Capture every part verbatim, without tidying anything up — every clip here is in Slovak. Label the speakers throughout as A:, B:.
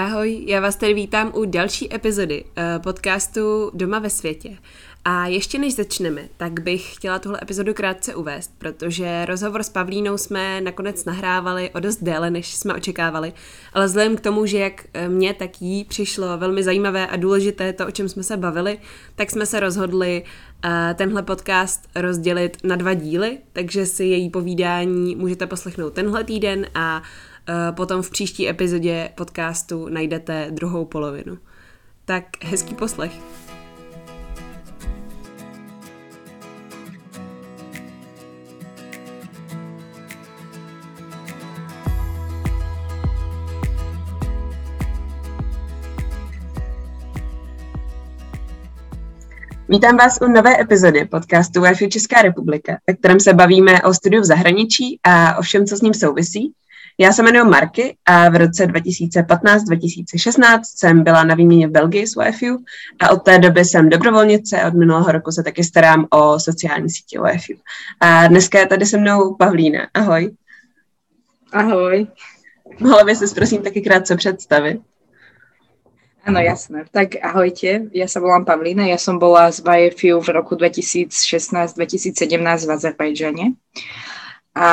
A: Ahoj, já vás tady vítám u další epizody podcastu Doma ve světě. A ještě než začneme, tak bych chtěla tuhle epizodu krátce uvést, protože rozhovor s Pavlínou jsme nakonec nahrávali o dost déle, než jsme očekávali, ale vzhledem k tomu, že jak mně, tak jí přišlo velmi zajímavé a důležité to, o čem jsme se bavili, tak jsme se rozhodli tenhle podcast rozdělit na dva díly, takže si její povídání můžete poslechnout tenhle týden a potom v příští epizodě podcastu najdete druhou polovinu. Tak hezký poslech.
B: Vítám vás u nové epizody podcastu Wi-Fi Česká republika, ve kterém se bavíme o studiu v zahraničí a o všem, co s ním souvisí. Já se jmenuji Marky a v roce dva tisíce patnáct dva tisíce šestnáct jsem byla na výměně v Belgii s Wi-Fi a od té doby jsem dobrovolnice a od minulého roku se taky starám o sociální sítě Wi-Fi. A dneska je tady se mnou Pavlína. Ahoj.
C: Ahoj.
B: Mohla bys se prosím taky krátce představit?
C: Áno, jasné. Tak ahojte, ja sa volám Pavlína, ja som bola z Wi-Fi v roku dva tisíce šestnásť dva tisíce sedemnásť v Azerbajdžane a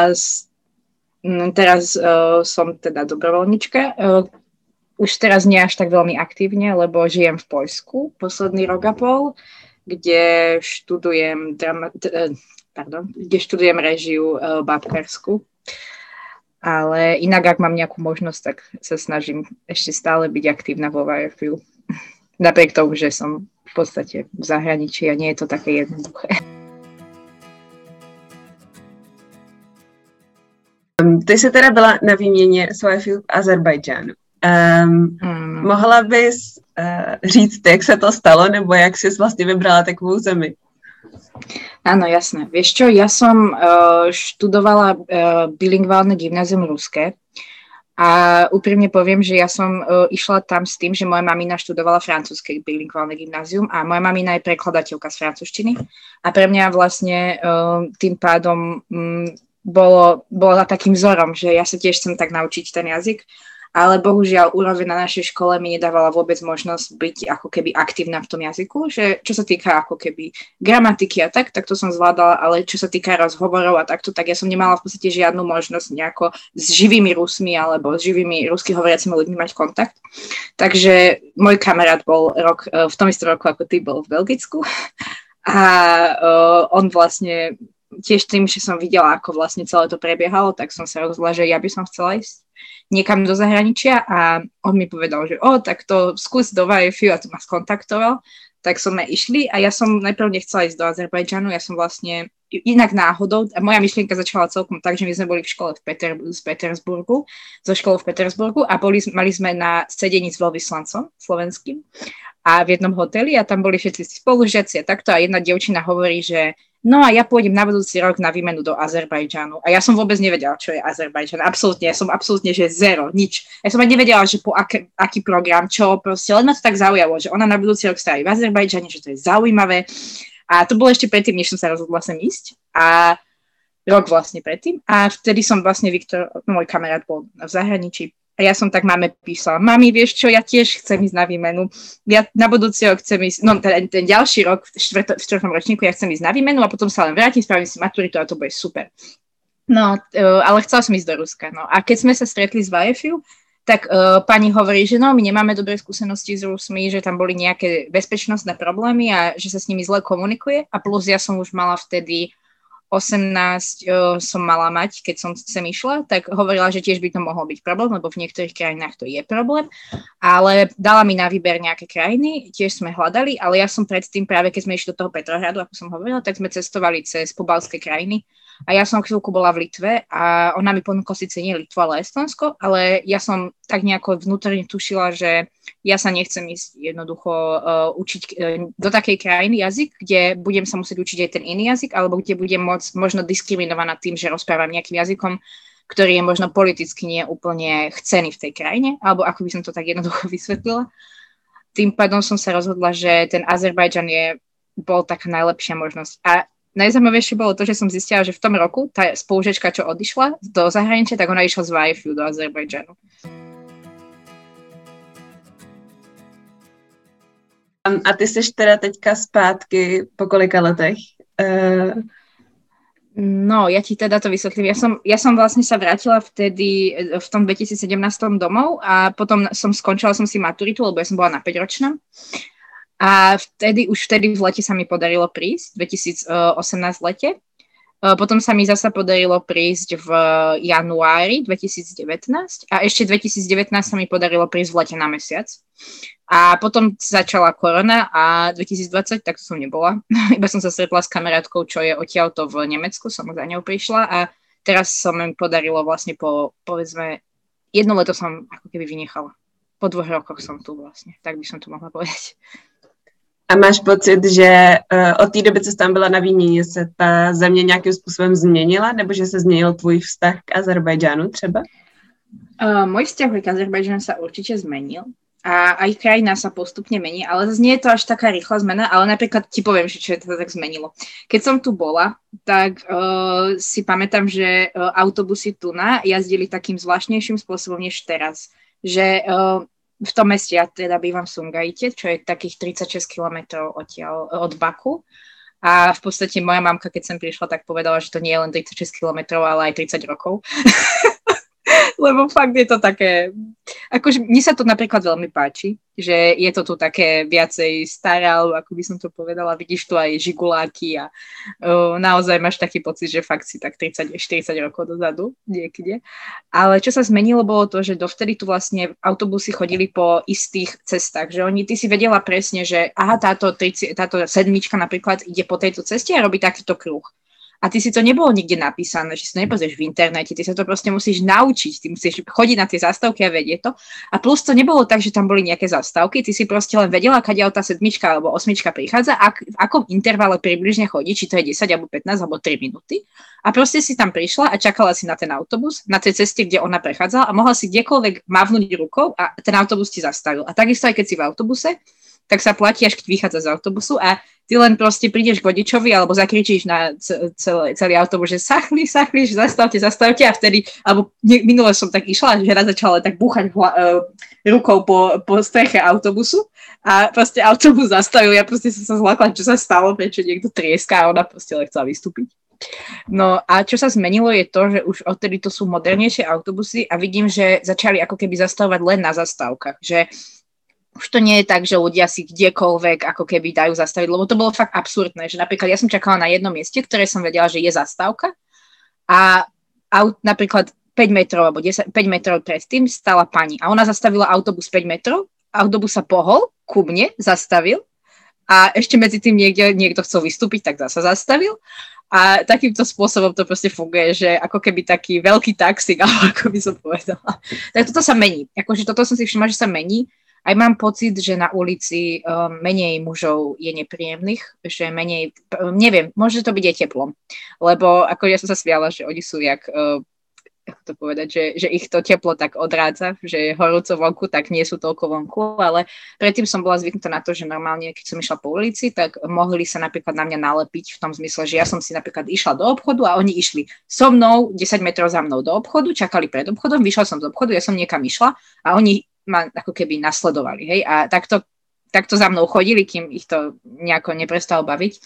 C: teraz uh, som teda dobrovoľnička. Uh, už teraz nie až tak veľmi aktívne, lebo žijem v Poľsku posledný rok a pol, kde študujem, drama, uh, pardon, kde študujem režiu uh, babkarsku. Ale inak, ak mám nejakú možnosť, tak sa snažím ešte stále byť aktívna vo Wi-Fi. Napriek tomu, že som v podstate v zahraničí a nie je to také jednoduché.
B: Ty jsi teda byla na výměně s Wi-Fi v Azerbajdžánu. Um, hmm. Mohla bys uh, říct, jak se to stalo, nebo jak jsi vlastně vybrala takovou zemi?
C: Áno, jasné. Vieš čo, ja som uh, študovala uh, bilingválne gymnázium ruské a úprimne poviem, že ja som uh, išla tam s tým, že moja mamina študovala francúzske bilingválne gymnázium a moja mamina je prekladateľka z francúzštiny a pre mňa vlastne uh, tým pádom um, bolo, bola takým vzorom, že ja sa tiež chcem tak naučiť ten jazyk. Ale bohužiaľ úroveň na našej škole mi nedávala vôbec možnosť byť ako keby aktívna v tom jazyku, že čo sa týka ako keby gramatiky a tak, tak to som zvládala, ale čo sa týka rozhovorov a takto, tak ja som nemala v podstate žiadnu možnosť nejako s živými Rusmi alebo s živými rusky hovoriacimi ľuďmi mať kontakt. Takže môj kamarát bol rok, v tom istom roku ako ty bol v Belgicku a uh, on vlastne tiež tým, že som videla, ako vlastne celé to prebiehalo, tak som sa rozhodla, že ja by som chcela ísť niekam do zahraničia a on mi povedal, že o, tak to skús do Wi-Fi a to ma skontaktoval, tak sme išli a ja som najprv nechcela ísť do Azerbajdžanu, ja som vlastne inak náhodou, a moja myšlienka začala celkom tak, že my sme boli v škole v Peter, z Petersburgu, zo školu v Petersburgu a boli, mali sme na sedení s veľvyslancom slovenským a v jednom hoteli a tam boli všetci spolužiaci a takto a jedna dievčina hovorí, že no a ja pôjdem na budúci rok na výmenu do Azerbajdžanu. A ja som vôbec nevedela, čo je Azerbajdžan. Absolútne, ja som absolútne, že zero, nič. Ja som aj nevedela, že po ak, aký program, čo, proste len ma to tak zaujalo, že ona na budúci rok stojí v Azerbajdžane, že to je zaujímavé. A to bolo ešte predtým, než som sa rozhodla sem ísť. A rok vlastne predtým. A vtedy som vlastne Viktor, môj kamarát bol v zahraničí. A ja som tak máme písala, mami, vieš čo, ja tiež chcem ísť na výmenu. Ja na budúci rok chcem ísť, no ten, ten ďalší rok, v, štvrto, v štvrtom ročníku, ja chcem ísť na výmenu a potom sa len vrátim, spravím si maturitu a to bude super. No, uh, ale chcela som ísť do Ruska. No. A keď sme sa stretli s Wi-Fi, tak uh, pani hovorí, že no, my nemáme dobré skúsenosti s Rusmi, že tam boli nejaké bezpečnostné problémy a že sa s nimi zle komunikuje. A plus ja som už mala vtedy osemnásť uh, som mala mať, keď som sem išla, tak hovorila, že tiež by to mohol byť problém, lebo v niektorých krajinách to je problém, ale dala mi na výber nejaké krajiny, tiež sme hľadali, ale ja som predtým práve, keď sme išli do toho Petrohradu, ako som hovorila, tak sme cestovali cez pobaltské krajiny a ja som chvíľku bola v Litve a ona mi ponúkla síce nie Litvu, ale Estonsko, ale ja som tak nejako vnútorne tušila, že ja sa nechcem ísť jednoducho uh, učiť uh, do takej krajiny jazyk, kde budem sa musieť učiť aj ten iný jazyk, alebo kde budem môcť možno diskriminovaná tým, že rozprávam nejakým jazykom, ktorý je možno politicky nie úplne chcený v tej krajine, alebo ako by som to tak jednoducho vysvetlila. Tým pádom som sa rozhodla, že ten Azerbajdžan je, bol taká najlepšia možnosť. A najzaujímavejšie bolo to, že som zistila, že v tom roku tá spolužiačka, čo odišla do zahraničia, tak ona išla z Wi-Fi do Azerbajdžanu.
B: A ty jsi teda teďka zpátky po kolika letech? Uh...
C: No, ja ti teda to vysvetlím. Ja som, ja som vlastne sa vrátila vtedy v tom dvetisícsedemnásť domov a potom som skončila som si maturitu, lebo ja som bola na päťročná. A vtedy, už vtedy v lete sa mi podarilo prísť, dvetisícosemnásť v lete. Potom sa mi zasa podarilo prísť v januári dvetisícdevätnásť a ešte dvetisícdevätnásť sa mi podarilo prísť v lete na mesiac. A potom začala korona a dvetisícdvadsať, tak to som nebola. Iba som sa stretla s kamarátkou, čo je odtiaľto v Nemecku, som za ňou prišla a teraz sa mi podarilo vlastne po, povedzme, jedno leto som ako keby vynechala. Po dvoch rokoch som tu vlastne, tak by som to mohla povedať.
B: A máš pocit, že uh, od té doby, co jsi tam byla na výměně, se ta země nějakým způsobem změnila, nebo že se změnil tvůj vztah k Azerbajdžánu třeba?
C: Uh, môj vzťah k Azerbajdžánu sa určite zmenil. A aj krajina sa postupne mení, ale nie je to až taká rýchla zmena, ale napríklad ti poviem, že čo je to tak zmenilo. Keď som tu bola, tak uh, si pamätám, že uh, autobusy tu na jazdili takým zvláštnejším spôsobom než teraz. Že uh, v tom meste, ja teda bývam v Sumgajite, čo je takých tridsaťšesť kilometrov odtiaľ, od Baku. A v podstate moja mamka, keď sem prišla, tak povedala, že to nie je len tridsaťšesť kilometrov, ale aj tridsať rokov. Lebo fakt je to také, akože mne sa to napríklad veľmi páči, že je to tu také viacej staré, alebo ako by som to povedala, vidíš tu aj žiguláky a uh, naozaj máš taký pocit, že fakt si tak tridsať štyridsať rokov dozadu niekde. Ale čo sa zmenilo, bolo to, že dovtedy tu vlastne autobusy chodili po istých cestách, že oni, ty si vedela presne, že aha, táto, tridsať, táto sedmička napríklad ide po tejto ceste a robí takýto kruh. A ty si to nebolo nikde napísané, že si to nepozrieš v internete, ty sa to proste musíš naučiť, ty musíš chodiť na tie zastávky a vedieť to. A plus to nebolo tak, že tam boli nejaké zastávky, ty si proste len vedela, kadiaľ tá sedmička alebo osmička prichádza, ak, v akom intervale približne chodí, či to je desať alebo pätnásť alebo tri minúty. A proste si tam prišla a čakala si na ten autobus, na tej ceste, kde ona prechádzala a mohla si kdekoľvek mávnuť rukou a ten autobus ti zastavil. A takisto aj keď si v autobuse, tak sa platí, až keď vychádza z autobusu a ty len proste prídeš k vodičovi alebo zakričíš na celý, celý autobus, že sachli, sachli, že zastavte, zastavte a vtedy, alebo minule som tak išla, že raz začala tak búchať hla, uh, rukou po, po streche autobusu a proste autobus zastavil, ja proste som sa zlakla, čo sa stalo, prečo niekto trieska a ona proste len chcela vystúpiť. No a čo sa zmenilo je to, že už odtedy to sú modernejšie autobusy a vidím, že začali ako keby zastavovať len na zastávkach, že už to nie je tak, že ľudia si kdekoľvek ako keby dajú zastaviť, lebo to bolo fakt absurdné, že napríklad ja som čakala na jednom mieste, ktoré som vedela, že je zastávka a aut, napríklad päť metrov alebo desať, päť metrov predtým stala pani a ona zastavila autobus päť metrov, autobus sa pohol, ku mne zastavil a ešte medzi tým niekde, niekto chcel vystúpiť, tak zasa zastavil a takýmto spôsobom to proste funguje, že ako keby taký veľký taxík, alebo ako by som povedala. Tak toto sa mení, akože toto som si všimla, že sa mení. Aj mám pocit, že na ulici um, menej mužov je nepríjemných, že menej, neviem, môže to byť aj teplom, lebo ako ja som sa smiala, že oni sú jak, uh, ako to povedať, že, že ich to teplo tak odrádza, že je horúco vonku, tak nie sú toľko vonku, ale predtým som bola zvyknutá na to, že normálne, keď som išla po ulici, tak mohli sa napríklad na mňa nalepiť v tom zmysle, že ja som si napríklad išla do obchodu a oni išli so mnou desať metrov za mnou do obchodu, čakali pred obchodom, vyšla som z obchodu, ja som niekam išla a oni ma ako keby nasledovali, hej, a takto, takto za mnou chodili, kým ich to nejako neprestalo baviť.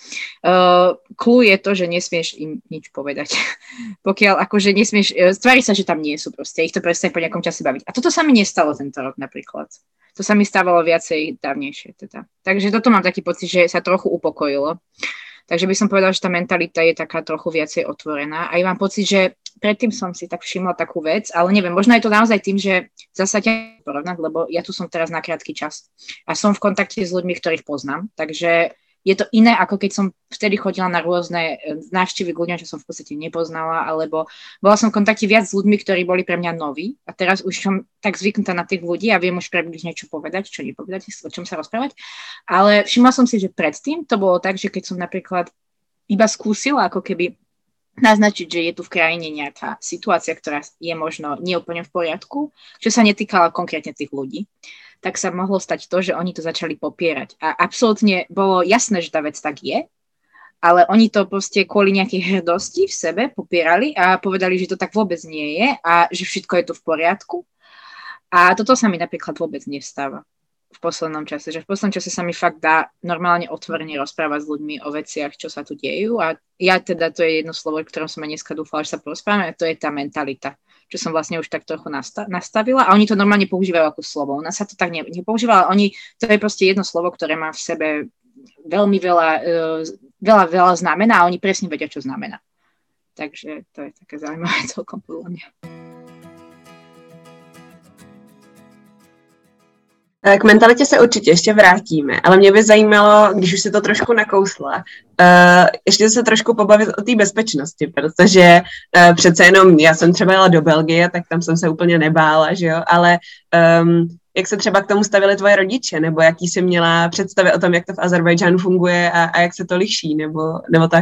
C: Uh, Kľú je to, že nesmieš im nič povedať. Pokiaľ akože nesmieš, uh, stvári sa, že tam nie sú proste, ich to prestane po nejakom čase baviť. A toto sa mi nestalo tento rok napríklad. To sa mi stávalo viacej dávnejšie teda. Takže toto mám taký pocit, že sa trochu upokojilo. Takže by som povedala, že tá mentalita je taká trochu viacej otvorená. A ja mám pocit, že predtým som si tak všimla takú vec, ale neviem, možno je to naozaj tým, že zasa ťa porovnať, lebo ja tu som teraz na krátky čas a som v kontakte s ľuďmi, ktorých poznám, takže je to iné, ako keď som vtedy chodila na rôzne návštevy k ľuďom, čo som v podstate nepoznala, alebo bola som v kontakte viac s ľuďmi, ktorí boli pre mňa noví a teraz už som tak zvyknutá na tých ľudí a viem už približne niečo povedať, čo nepovedať, o čom sa rozprávať, ale všimla som si, že predtým to bolo tak, že keď som napríklad iba skúsila ako keby naznačiť, že je tu v krajine nejaká situácia, ktorá je možno neúplne v poriadku, čo sa netýkala konkrétne tých ľudí, tak sa mohlo stať to, že oni to začali popierať. A absolútne bolo jasné, že tá vec tak je, ale oni to proste kvôli nejakej hrdosti v sebe popierali a povedali, že to tak vôbec nie je a že všetko je tu v poriadku. A toto sa mi napríklad vôbec nestáva. V v poslednom čase, že v poslednom čase sa mi fakt dá normálne otvorene rozprávať s ľuďmi o veciach, čo sa tu dejú a ja teda, to je jedno slovo, ktorom som aj dneska dúfala, že sa porozprávame, a to je tá mentalita, čo som vlastne už tak trochu nasta- nastavila a oni to normálne používajú ako slovo. U nás sa to tak ne- nepoužíva, ale oni, to je proste jedno slovo, ktoré má v sebe veľmi veľa, uh, veľa, veľa znamená a oni presne vedia, čo znamená. Takže to je také zaujímavé celkom podľa mňa.
B: K mentalitě se určitě ještě vrátíme, ale mě by zajímalo, když už si to trošku nakousla, uh, ještě se trošku pobavit o té bezpečnosti, protože uh, přece jenom já jsem třeba jela do Belgie, tak tam jsem se úplně nebála, že jo, ale um, jak se třeba k tomu stavili tvoje rodiče, nebo jaký jsi měla představy o tom, jak to v Azerbajdžánu funguje a, a jak se to liší, nebo, nebo tak?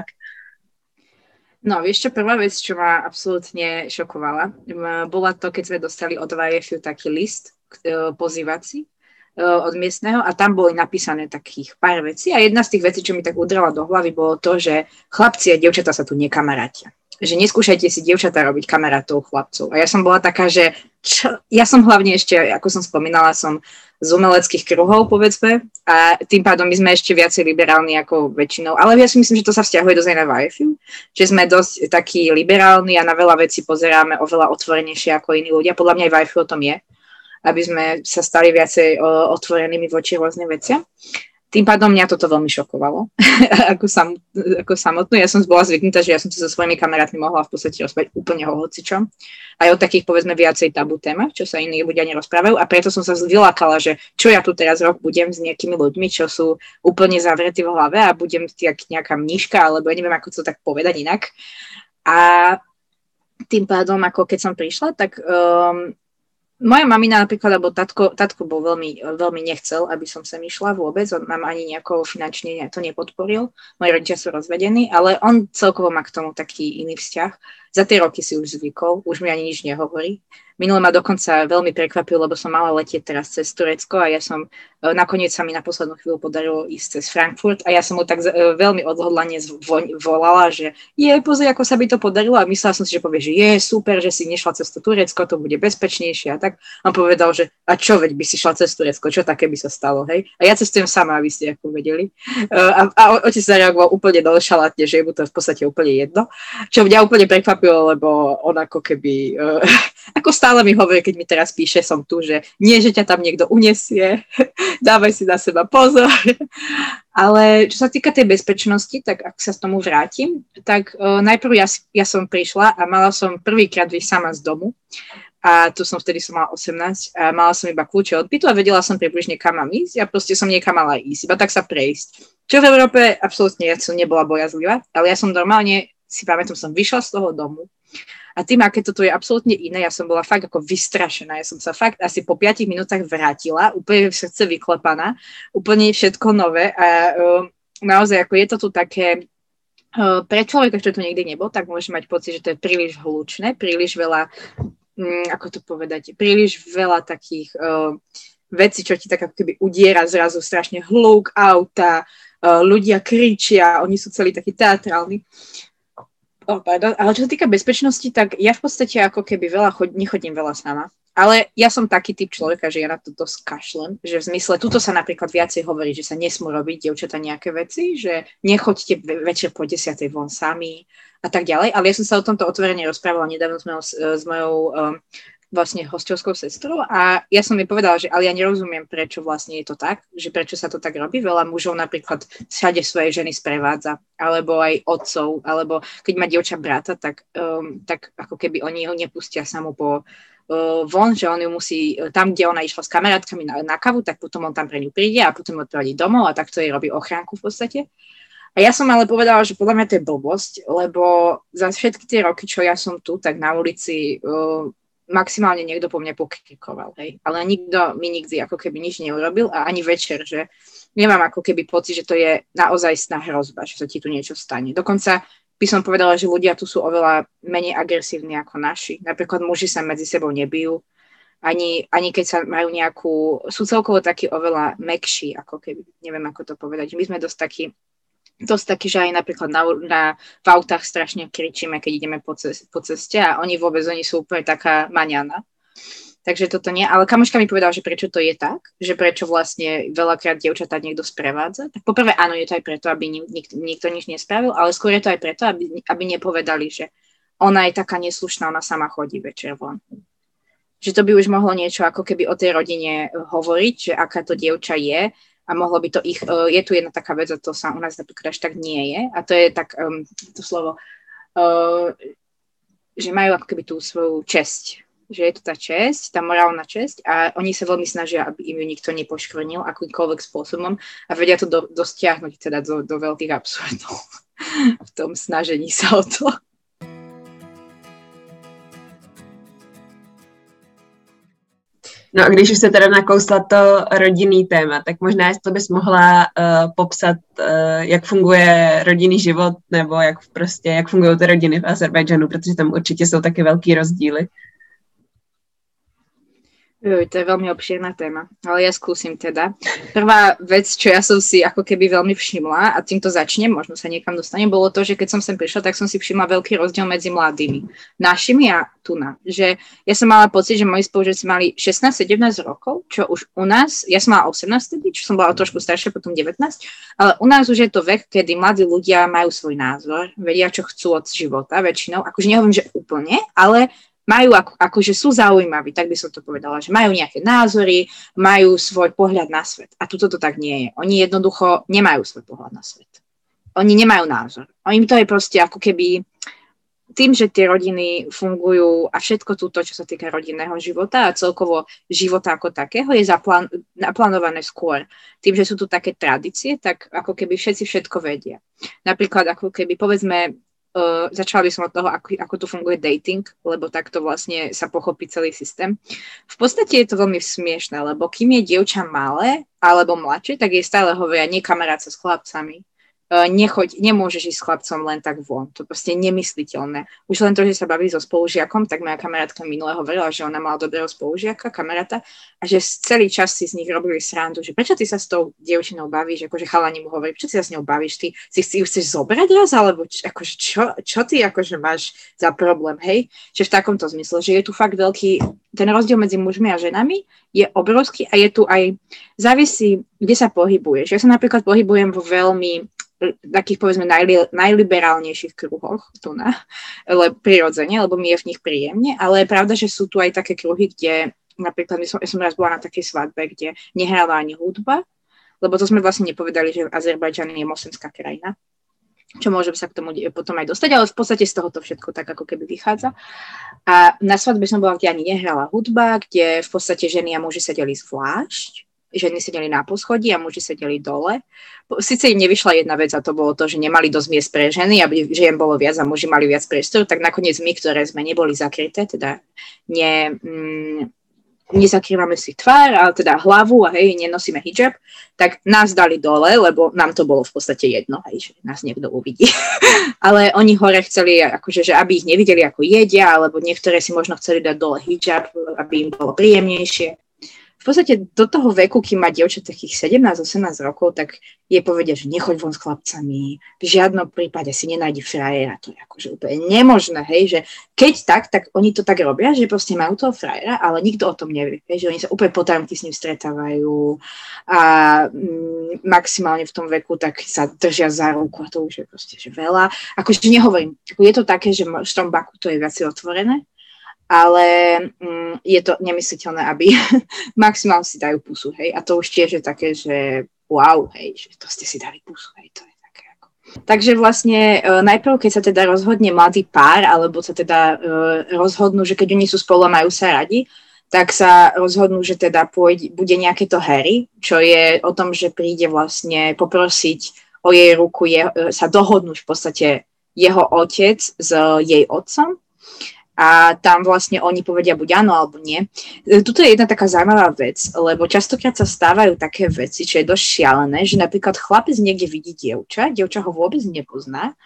C: No, vieš čo, prvá vec, čo ma absolútne šokovala, bola to, keď sme dostali od vé ef ú taký list pozývací od miestneho a tam boli napísané takých pár vecí a jedna z tých vecí, čo mi tak udrela do hlavy, bolo to, že chlapci a dievčatá sa tu nekamarátia. Že neskúšajte si dievčatá robiť kamarátov chlapcov. A ja som bola taká, že čo? Ja som hlavne ešte, ako som spomínala, som z umeleckých kruhov, povedzme, a tým pádom my sme ešte viacej liberálni ako väčšinou. Ale ja si myslím, že to sa vzťahuje dosť aj na vé ef ú, že sme dosť takí liberálni a na veľa vecí pozeráme oveľa otvorenejšie ako iní ľudia. Podľa mňa aj vé ef ú o tom je, aby sme sa stali viacej o, otvorenými voči rôznym veciam. Tým pádom mňa toto veľmi šokovalo, ako, sam, ako samotnú. Ja som bola zvyknutá, že ja som sa so svojimi kamarátmi mohla v podstate rozprávať úplne o hocičom. Aj o takých, povedzme, viacej tabu témach, čo sa iní ľudia nerozprávajú. A preto som sa vylákala, že čo ja tu teraz rok budem s nejakými ľuďmi, čo sú úplne zavretí v hlave a budem tak nejaká mníška, alebo ja neviem, ako to tak povedať inak. A tým pádom, ako keď som prišla, tak... Um, moja mamina napríklad, alebo tatko, tatko bol veľmi, veľmi nechcel, aby som sem išla vôbec, on nám ani nejako finančne to nepodporil, moji rodičia sú rozvedení, ale on celkovo má k tomu taký iný vzťah. Za tie roky si už zvykol, už mi ani nič nehovorí. Minule ma dokonca veľmi prekvapil, lebo som mala letieť teraz cez Turecko a ja som, nakoniec sa mi na poslednú chvíľu podarilo ísť cez Frankfurt a ja som mu tak veľmi odhodlane volala, že je, pozri, ako sa by to podarilo a myslela som si, že povie, že je super, že si nešla cez to Turecko, to bude bezpečnejšie a tak. On povedal, že a čo, veď by si šla cez Turecko, čo také by sa stalo, hej? A ja cestujem sama, aby ste ako vedeli. A, a otec zareagoval úplne nonšalantne, že je mu to v podstate úplne jedno, čo mňa úplne prekvapilo, lebo on ako keby, uh, ako stále mi hovorí, keď mi teraz píše, som tu, že nie, že ťa tam niekto unesie, dávaj si na seba pozor. Ale čo sa týka tej bezpečnosti, tak ak sa s tomu vrátim, tak uh, najprv ja, ja som prišla a mala som prvýkrát vyjsť sama z domu a tu som vtedy som mala osemnásť a mala som iba kľúče od bytu a vedela som približne kam mám ísť a proste som niekam mala ísť, iba tak sa prejsť. Čo v Európe absolútne ja som nebola bojazlivá, ale ja som normálne, si pamätám, som vyšla z toho domu a tým, aké toto je absolútne iné, ja som bola fakt ako vystrašená. Ja som sa fakt asi po piatich minútach vrátila, úplne v srdce vyklepaná, úplne všetko nové a um, naozaj ako je to tu také, uh, pre človeka, čo tu nikdy nebol, tak môže mať pocit, že to je príliš hlučné, príliš veľa, um, ako to povedať, príliš veľa takých uh, vecí, čo ti tak ako keby udiera zrazu strašne hluk, auta, uh, ľudia kričia, oni sú celí takí teatrálni. Oh, pardon. Ale čo sa týka bezpečnosti, tak ja v podstate ako keby veľa chod- nechodím veľa sama. Ale ja som taký typ človeka, že ja na toto skašlem, že v zmysle, tuto sa napríklad viacej hovorí, že sa nesmú robiť dievčatá nejaké veci, že nechoďte večer po desiatej von sami a tak ďalej. Ale ja som sa o tomto otvorene rozprávala nedávno s mojou, s mojou um, vlastne hostovskou sestrou a ja som jej povedala, že ale ja nerozumiem, prečo vlastne je to tak, že prečo sa to tak robí. Veľa mužov napríklad všade svoje ženy sprevádza, alebo aj otcov, alebo keď má dievča brata, tak, um, tak ako keby oni ho nepustia samú po uh, von, že on ju musí, tam, kde ona išla s kamarátkami na, na kavu, tak potom on tam pre ňu príde a potom odpraví domov a takto jej robí ochránku v podstate. A ja som ale povedala, že podľa mňa to je blbosť, lebo za všetky tie roky, čo ja som tu, tak na ulici uh, maximálne niekto po mne pokrikoval, hej. Ale nikto mi nikdy ako keby nič neurobil a ani večer, že nemám ako keby pocit, že to je naozaj sná hrozba, že sa ti tu niečo stane. Dokonca by som povedala, že ľudia tu sú oveľa menej agresívni ako naši. Napríklad muži sa medzi sebou nebijú, ani, ani keď sa majú nejakú, sú celkovo takí oveľa mäkší, ako keby, neviem ako to povedať. My sme dosť takí dosť taký, že aj napríklad na, na, v autách strašne kričíme, keď ideme po, cest, po ceste a oni vôbec, oni sú úplne taká maňana. Takže toto nie. Ale kamoška mi povedala, že prečo to je tak, že prečo vlastne veľakrát dievčatá niekto sprevádza. Tak poprvé áno, je to aj preto, aby nik- nikto nič nespravil, ale skôr je to aj preto, aby, aby nepovedali, že ona je taká neslušná, ona sama chodí večer von. Že to by už mohlo niečo ako keby o tej rodine hovoriť, že aká to dievča je a mohlo by to ich... Je tu jedna taká vec a to sa u nás napríklad až tak nie je a to je tak um, to slovo, uh, že majú ako keby tú svoju česť. Že je to tá česť, tá morálna česť a oni sa veľmi snažia, aby im ju nikto nepoškvrnil akýmkoľvek spôsobom a vedia to do, dostiahnuť teda do, do veľkých absurdov v tom snažení sa o to.
B: No a když už se teda nakousla to rodinný téma, tak možná jestli bys mohla uh, popsat, uh, jak funguje rodinný život nebo jak prostě, jak fungují ty rodiny v Azerbajdžanu, protože tam určitě jsou taky velký rozdíly.
C: Uj, to je veľmi obšírna téma, ale ja skúsim teda. Prvá vec, čo ja som si ako keby veľmi všimla, a týmto začnem, možno sa niekam dostanem, bolo to, že keď som sem prišla, tak som si všimla veľký rozdiel medzi mladými. Našimi a tu na. Že ja som mala pocit, že moji spolužiaci mali šestnásť sedemnásť rokov, čo už u nás, ja som mala osemnásť tedy, čo som bola trošku staršia, potom devätnásť, ale u nás už je to vek, kedy mladí ľudia majú svoj názor, vedia, čo chcú od života väčšinou, akože nehovorím, že úplne, ale majú, ako, akože sú zaujímaví, tak by som to povedala, že majú nejaké názory, majú svoj pohľad na svet. A tuto to tak nie je. Oni jednoducho nemajú svoj pohľad na svet. Oni nemajú názor. Oni to je proste ako keby tým, že tie rodiny fungujú a všetko túto, čo sa týka rodinného života a celkovo života ako takého je zaplán, naplánované skôr. Tým, že sú tu také tradície, tak ako keby všetci všetko vedia. Napríklad ako keby povedzme Uh, začala by som od toho, ako, ako tu funguje dating, lebo takto vlastne sa pochopí celý systém. V podstate je to veľmi smiešné, lebo kým je dievča malé alebo mladšie, tak jej stále hovoria, nie kamarát sa s chlapcami. Uh, nechoď, nemôžeš ísť s chlapcom len tak von. To proste je nemysliteľné. Už len to, že sa baví so spolužiakom, tak moja kamarátka minule hovorila, že ona mala dobrého spolužiaka, kamaráta, a že celý čas si z nich robili srandu, že prečo ty sa s tou dievčinou bavíš, akože chalani mu hovorí, prečo ty sa s ňou bavíš, ty si ju chceš zobrať raz, alebo č- akože čo, čo ty akože máš za problém, hej? Že v takomto zmysle, že je tu fakt veľký, ten rozdiel medzi mužmi a ženami je obrovský a je tu aj, závisí, kde sa pohybuješ. Ja sa napríklad pohybujem vo veľmi takých, povedzme, najli, najliberálnejších kruhoch tu na, ale prirodzene, lebo mi je v nich príjemne, ale je pravda, že sú tu aj také kruhy, kde napríklad, som, ja som raz bola na takej svadbe, kde nehrála ani hudba, lebo to sme vlastne nepovedali, že Azerbajdžan je moslimská krajina, čo môžem sa k tomu potom aj dostať, ale v podstate z tohoto všetko tak ako keby vychádza. A na svadbe som bola, kde ani nehrala hudba, kde v podstate ženy a muži sedeli zvlášť, ženy sedeli na poschodí a muži sedeli dole. Sice im nevyšla jedna vec a to bolo to, že nemali dosť miest pre ženy, aby žien bolo viac a muži mali viac priestoru, tak nakoniec my, ktoré sme neboli zakryté, teda ne, mm, nezakrývame si tvár, ale teda hlavu a hej, nenosíme hijab, tak nás dali dole, lebo nám to bolo v podstate jedno, hej, že nás niekto uvidí. Ale oni hore chceli, akože, že aby ich nevideli, ako jedia, alebo niektoré si možno chceli dať dole hijab, aby im bolo príjemnejšie. V podstate do toho veku, kým má dievča takých sedemnásť osemnásť rokov, tak jej povedia, že nechoď von s chlapcami, v žiadnom prípade si nenájdi frajera, to je akože úplne nemožné, hej, že keď tak, tak oni to tak robia, že proste majú toho frajera, ale nikto o tom nevie, hej, že oni sa úplne potajomky s ním stretávajú a mm, maximálne v tom veku tak sa držia za ruku a to už je proste že veľa. Akože nehovorím, je to také, že v tom Baku to je viac otvorené, ale mm, je to nemysliteľné, aby maximálne si dajú pusu, hej, a to už tiež je také, že wow, hej, že to ste si dali pusu, hej, to je také ako. Takže vlastne e, najprv, keď sa teda rozhodne mladý pár, alebo sa teda e, rozhodnú, že keď oni sú spolu a majú sa radi, tak sa rozhodnú, že teda pôjde, bude nejaké to Harry, čo je o tom, že príde vlastne poprosiť o jej ruku, je, sa dohodnúť v podstate jeho otec s jej otcom. A tam vlastne oni povedia buď áno, alebo nie. Tuto je jedna taká zaujímavá vec, lebo častokrát sa stávajú také veci, čo je dosť šialené, že napríklad chlapec niekde vidí dievča, dievča ho vôbec nepozná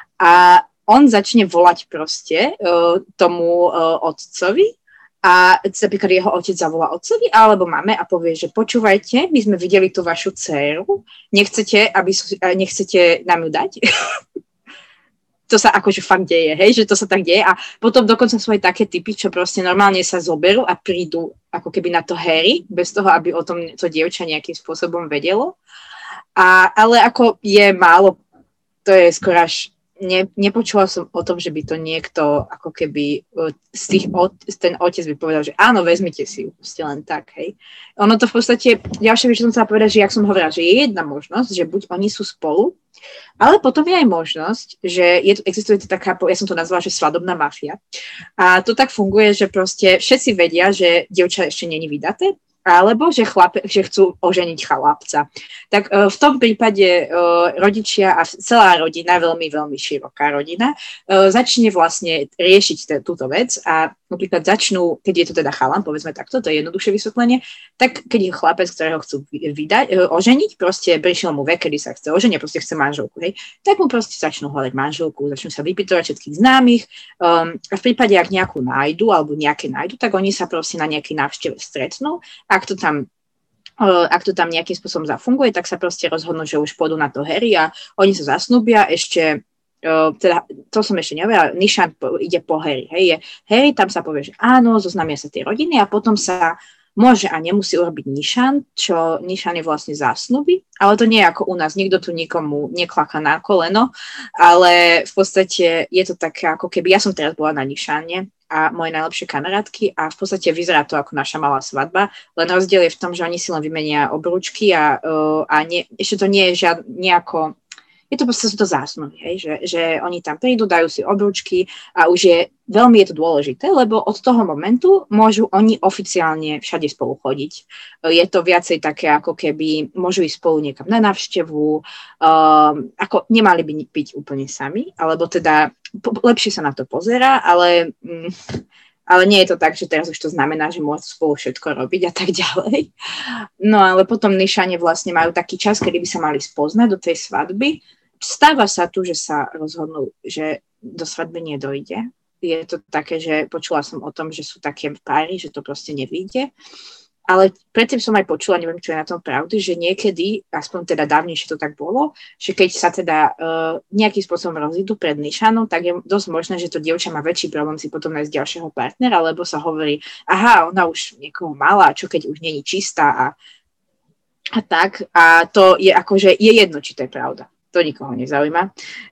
C: a on začne volať proste uh, tomu uh, otcovi a napríklad jeho otec zavolá otcovi alebo mame a povie, že počúvajte, my sme videli tú vašu dcéru, nechcete, aby, nechcete nám ju dať? to sa akože fakt deje, hej, že to sa tak deje a potom dokonca sú aj také typy, čo proste normálne sa zoberú a prídu ako keby na to Harry, bez toho, aby o tom to dievča nejakým spôsobom vedelo. A, ale ako je málo, to je skoro až Ne, nepočula som o tom, že by to niekto ako keby z tých, ten otec by povedal, že áno, vezmite si ju, ste len tak, hej. Ono to v podstate, ďalšia vec, čo som chcela povedať, že jak som hovorila, že je jedna možnosť, že buď oni sú spolu, ale potom je aj možnosť, že je, existuje to taká, ja som to nazvala, že svadobná mafia. A to tak funguje, že proste všetci vedia, že dievča ešte není vydaté, alebo že, chlape, že chcú oženiť chlapca. Tak uh, v tom prípade uh, rodičia a celá rodina, veľmi, veľmi široká rodina, uh, začne vlastne riešiť t- túto vec a napríklad začnú, keď je to teda chalan, povedzme takto, to je jednoduchšie vysvetlenie, tak keď je chlapec, ktorého chcú vydať, uh, oženiť, proste prišiel mu vek, kedy sa chce oženiť, proste chce manželku, hej, tak mu proste začnú hľadať manželku, začnú sa vypytovať všetkých známych um, a v prípade, ak nejakú nájdu, alebo nejaké nájdu, tak oni sa proste na nejakej návšteve stretnú. Ak to tam, ak to tam nejakým spôsobom zafunguje, tak sa proste rozhodnú, že už pôjdu na to Harry a oni sa zasnúbia ešte, teda to som ešte nevedela, Nišan ide po Harry, hej, je Harry, tam sa povie, že áno, zoznamia sa tie rodiny a potom sa môže a nemusí urobiť Nišan, čo Nišan je vlastne zásnuby, ale to nie je ako u nás, nikto tu nikomu neklaká na koleno, ale v podstate je to také, ako keby, ja som teraz bola na Nišane a moje najlepšie kamarátky a v podstate vyzerá to ako naša malá svadba, len rozdiel je v tom, že oni si len vymenia obrúčky a, a nie, ešte to nie je žiad, nejako, je to proste sú to zásnuby, hej, že, že oni tam prídu, dajú si obrúčky a už je, veľmi je to dôležité, lebo od toho momentu môžu oni oficiálne všade spolu chodiť. Je to viacej také, ako keby môžu ísť spolu niekam na návštevu, um, ako nemali by byť úplne sami, alebo teda po, lepšie sa na to pozerá, ale... Mm, ale nie je to tak, že teraz už to znamená, že môžu spolu všetko robiť a tak ďalej. No ale potom Nišane vlastne majú taký čas, kedy by sa mali spoznať do tej svadby. Stáva sa tu, že sa rozhodnú, že do svadby nedojde. Je to také, že počula som o tom, že sú také páry, že to proste nevyjde. Ale predtým som aj počula, neviem, čo je na tom pravdy, že niekedy, aspoň teda dávnejšie to tak bolo, že keď sa teda uh, nejakým spôsobom rozídu pred Nišanom, tak je dosť možné, že to dievča má väčší problém si potom nájsť ďalšieho partnera, lebo sa hovorí, aha, ona už niekoho mala, čo keď už není čistá a, a tak. A to je akože, je jedno, či to je pravda. To nikoho nezaujíma.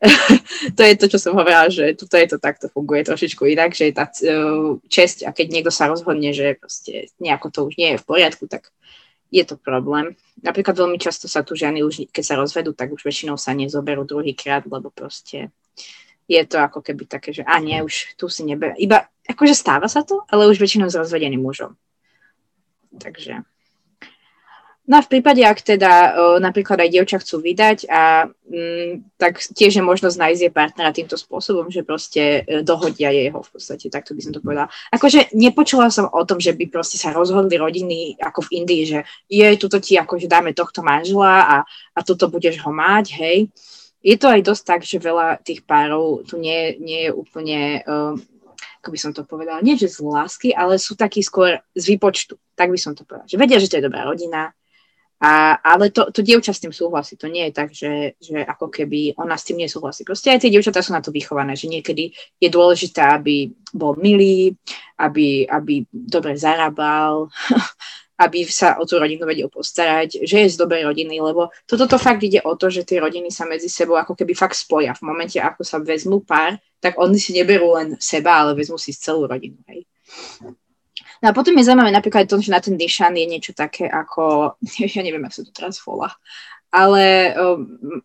C: To je to, čo som hovorila, že tuto je to takto funguje trošičku inak, že je tá česť a keď niekto sa rozhodne, že proste nejako to už nie je v poriadku, tak je to problém. Napríklad veľmi často sa tu ženy už, keď sa rozvedú, tak už väčšinou sa nezoberú druhýkrát, lebo proste je to ako keby také, že a nie, už tu si nebe... Iba, akože stáva sa to, ale už väčšinou s rozvedeným mužom. Takže... No a v prípade, ak teda o, napríklad aj dievča chcú vydať, a, m, tak tiež je možnosť nájsť jej partnera týmto spôsobom, že proste e, dohodia jeho v podstate, takto by som to povedala. Akože nepočula som o tom, že by proste sa rozhodli rodiny ako v Indii, že je, tuto ti akože dáme tohto manžela a, a tuto budeš ho mať, hej. Je to aj dosť tak, že veľa tých párov tu nie, nie je úplne... Um, ako by som to povedala, nie že z lásky, ale sú takí skôr z výpočtu, tak by som to povedala. Že vedia, že to je dobrá rodina, a, ale to, to dievča s tým súhlasí. To nie je tak, že, že ako keby ona s tým nesúhlasí. Proste aj tie dievčatá sú na to vychované, že niekedy je dôležité, aby bol milý, aby, aby dobre zarábal, aby sa o tú rodinu vedel postarať, že je z dobrej rodiny, lebo toto to fakt ide o to, že tie rodiny sa medzi sebou ako keby fakt spoja. V momente, ako sa vezmú pár, tak oni si neberú len seba, ale vezmú si celú rodinu. Hej. No a potom je zaujímavé napríklad to, že na ten Nišan je niečo také ako, ja neviem, ako sa to teraz volá, ale um,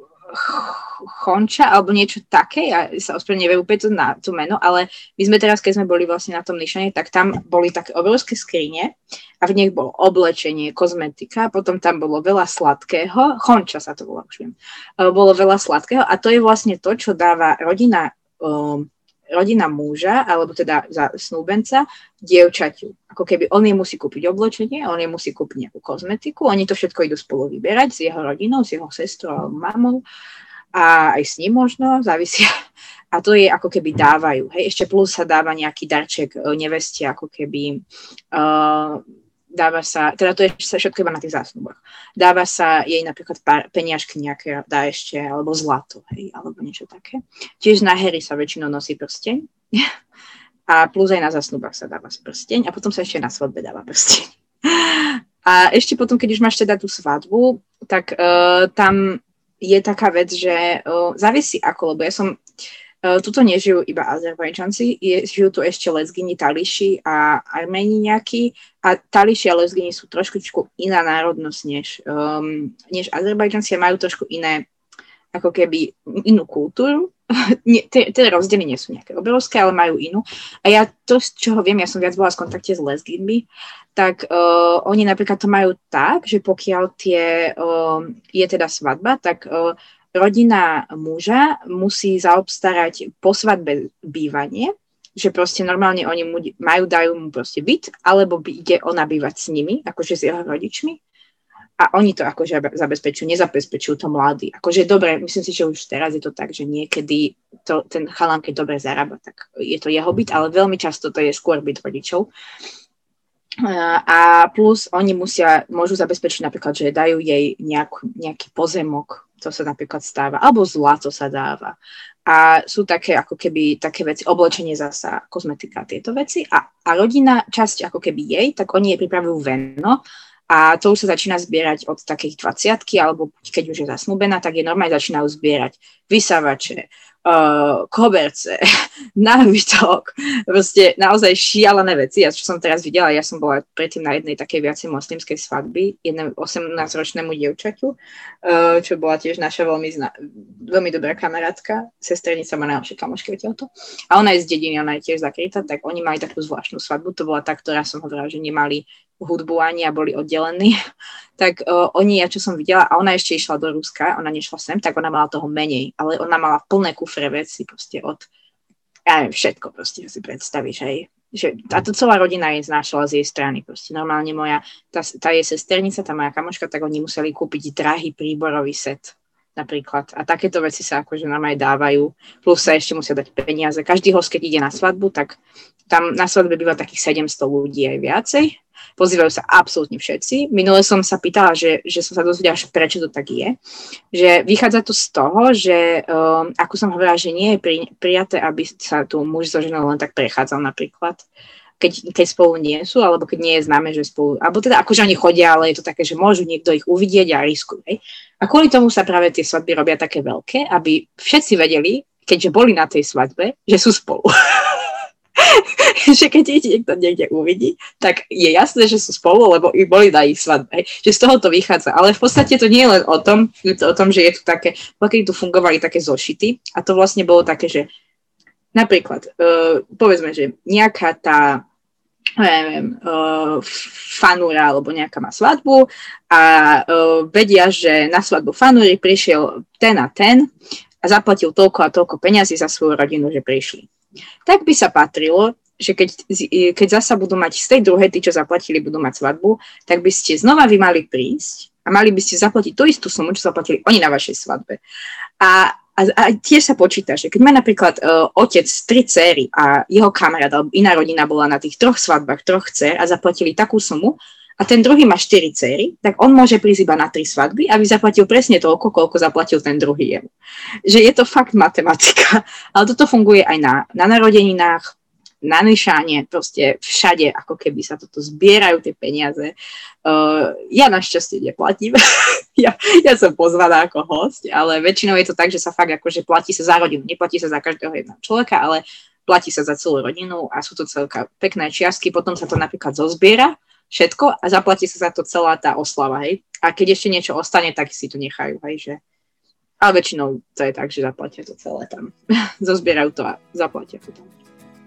C: chonča, alebo niečo také, ja sa ospravedlňujem, neviem úplne to na to meno, ale my sme teraz, keď sme boli vlastne na tom Nišane, tak tam boli také obrovské skrine a v nich bolo oblečenie, kozmetika, potom tam bolo veľa sladkého, chonča sa to volá, už viem, bolo veľa sladkého a to je vlastne to, čo dáva rodina um, rodina muža, alebo teda za snúbenca, dievčaťu. Ako keby on jej musí kúpiť oblečenie, on jej musí kúpiť nejakú kozmetiku, oni to všetko idú spolu vyberať s jeho rodinou, s jeho sestrou alebo mamou a aj s ním možno, závisia. A to je ako keby dávajú. Hej? Ešte plus sa dáva nejaký darček neveste, ako keby uh, dáva sa, teda to je všetko iba na tých zásnuboch, dáva sa jej napríklad pár, peniažky nejaké dá ešte, alebo zlato, hej, alebo niečo také. Tiež na hery sa väčšinou nosí prsteň a plus aj na zásnubách sa dáva prsteň a potom sa ešte na svadbe dáva prsteň. A ešte potom, keď už máš teda tú svadbu, tak uh, tam je taká vec, že uh, závisí ako, lebo ja som Uh, tuto nežijú iba Azerbajdžanci, žijú tu ešte Lezgini, Tališi a Arméni nejakí a Tališi a Lezgini sú trošku iná národnosť než, um, než Azerbajdžanci a majú trošku iné, ako keby inú kultúru. Tie rozdiely nie sú nejaké obrovské, ale majú inú. A ja to, z čoho viem, ja som viac bola v kontakte s Lezginmi, tak uh, oni napríklad to majú tak, že pokiaľ tie, uh, je teda svadba, tak uh, rodina muža musí zaobstarať po svadbe bývanie, že proste normálne oni mu majú, dajú mu proste byt, alebo ide ona bývať s nimi, akože s jeho rodičmi. A oni to akože zabezpečujú, nezabezpečujú to mladí. Akože dobre, myslím si, že už teraz je to tak, že niekedy to, ten chalan, keď dobre zarába, tak je to jeho byt, ale veľmi často to je skôr byt rodičov. A plus oni musia, môžu zabezpečiť napríklad, že dajú jej nejakú, nejaký pozemok, to sa napríklad stáva, alebo zlato sa dáva. A sú také ako keby také veci, oblečenie zasa, kozmetika, tieto veci. A, a rodina, časť ako keby jej, tak oni jej pripravujú veno a to už sa začína zbierať od takých dvadsiatky, alebo keď už je zasnúbená, tak je normálne začínajú zbierať vysavače, uh, koberce, nábytok, proste naozaj šialené veci. Ja čo som teraz videla, ja som bola predtým na jednej takej viacej moslimskej svadby, jednému osemnásťročnému dievčaťu, uh, čo bola tiež naša veľmi, zna- veľmi dobrá kamarátka, sesternica má najlepšie kamošky, viete o to. A ona je z dediny, ona je tiež zakrytá, tak oni mali takú zvláštnu svadbu, to bola tá, ktorá som hovorila, že nemali hudbu ani a boli oddelení, tak uh, oni, ja čo som videla, a ona ešte išla do Ruska, ona nešla sem, tak ona mala toho menej, ale ona mala plné kufre veci, proste od, ja neviem, všetko proste, si predstavíš, hej. Že táto celá rodina jej znášala z jej strany, proste normálne moja, tá, tá je sesternica, tá moja kamoška, tak oni museli kúpiť drahý príborový set, napríklad. A takéto veci sa akože normálne dávajú, plus sa ešte musia dať peniaze. Každý host, keď ide na svadbu, tak tam na svadbe býva takých sedemsto ľudí aj viacej. Pozývajú sa absolútne všetci. Minule som sa pýtala, že, že som sa dozvedela, prečo to tak je. Že vychádza to z toho, že um, ako som hovorila, že nie je pri, prijaté, aby sa tu muž so ženou len tak prechádzal napríklad, keď, keď spolu nie sú, alebo keď nie je známe, že spolu, alebo teda akože oni chodia, ale je to také, že môžu niekto ich uvidieť a riskujú. Hej? A kvôli tomu sa práve tie svadby robia také veľké, aby všetci vedeli, keďže boli na tej svadbe, že sú spolu. Že keď ich niekto niekde uvidí, tak je jasné, že sú spolu, lebo i boli na ich svadbe. Že z toho to vychádza. Ale v podstate to nie je len o tom, je to o tom, že je tu také, keď tu fungovali také zošity a to vlastne bolo také, že napríklad, uh, povedzme, že nejaká tá neviem, uh, fanúra alebo nejaká má svadbu a uh, vedia, že na svadbu fanúry prišiel ten a ten a zaplatil toľko a toľko peňazí za svoju rodinu, že prišli. Tak by sa patrilo, že keď, keď zasa budú mať z tej druhej, tí, čo zaplatili, budú mať svadbu, tak by ste znova vy mali prísť a mali by ste zaplatiť tú istú sumu, čo zaplatili oni na vašej svadbe. A, a, a tiež sa počíta, že keď má napríklad uh, otec tri céry a jeho kamarát alebo iná rodina bola na tých troch svadbách, troch dcér a zaplatili takú sumu, a ten druhý má štyri céry, tak on môže prísť iba na tri svadby, aby zaplatil presne toľko, koľko zaplatil ten druhý jemu. Že je to fakt matematika, ale toto funguje aj na, na narodeninách, na nišáne, proste všade, ako keby sa toto zbierajú tie peniaze. Uh, ja našťastie neplatím, ja, ja som pozvaná ako host, ale väčšinou je to tak, že sa fakt akože platí sa za rodinu, neplatí sa za každého jedného človeka, ale platí sa za celú rodinu a sú to celká pekné čiastky, potom sa to napríklad zozbiera, všetko a zaplatí sa za to celá tá oslava, hej. A keď ešte niečo ostane, tak si to nechajú, hej, že... Ale väčšinou to je tak, že zaplatia to celé tam. Zozbierajú to a zaplatia to tam.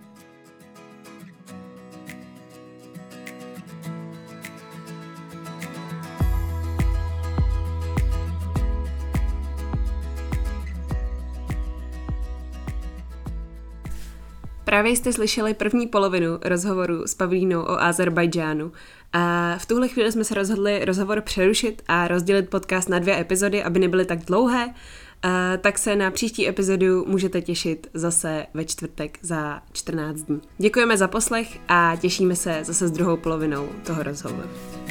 A: Právě jste slyšeli první polovinu rozhovoru s Pavlínou o Azerbajdžánu a v tuhle chvíli jsme se rozhodli rozhovor přerušit a rozdělit podcast na dvě epizody, aby nebyly tak dlouhé tak se na příští epizodu můžete těšit zase ve čtvrtek za čtrnáct dní. Děkujeme za poslech a těšíme se zase s druhou polovinou toho rozhovoru.